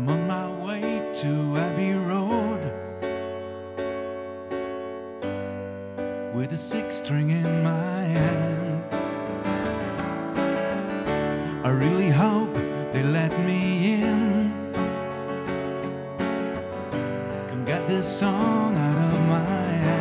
I'm on my way to Abbey Road with a six string in my hand. I really hope they let me in. Can get this song out of my head.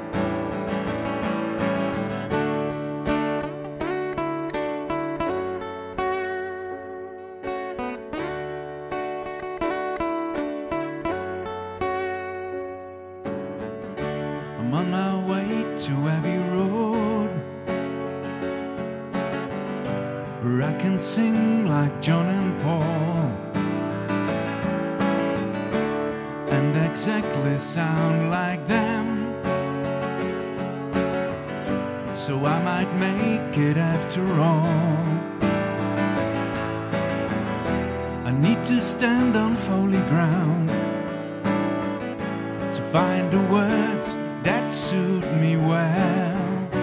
I'm on my way to Abbey Road, where I can sing like John and Paul and exactly sound like them. So I might make it after all. I need to stand on holy ground to find the words that suit me well.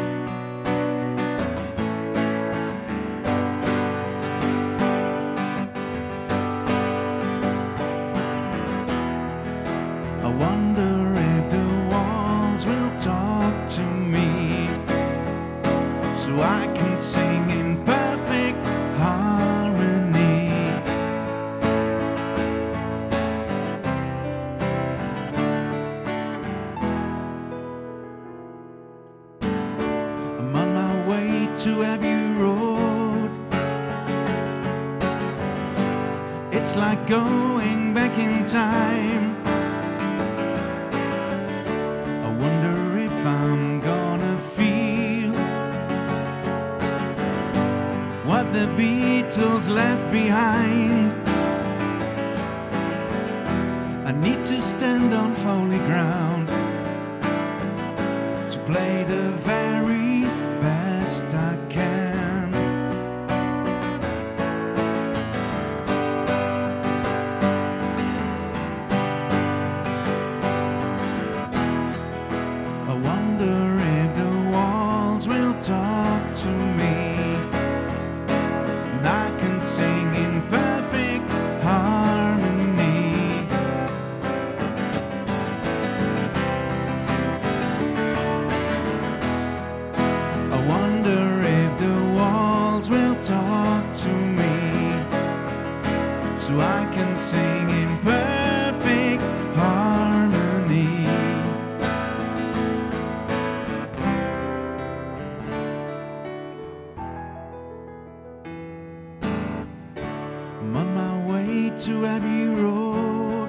I wonder if the walls will talk to me, so I can sing in perfect harmony. I'm on my way to Abbey Road. It's like going back in time. I wonder if I'm gonna feel what the Beatles left behind. I need to stand on holy ground to play the very best I can. I wonder if the walls will talk to me, and I can sing in perfect harmony. I wonder if the walls will talk to me, so I can sing in perfect harmony. I'm on my way to Abbey Road.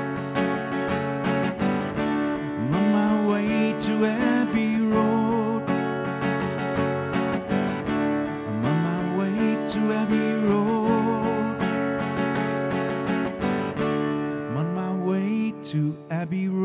I'm on my way to Abbey Road. I'm on my way to Abbey Road. I'm on my way to Abbey Road.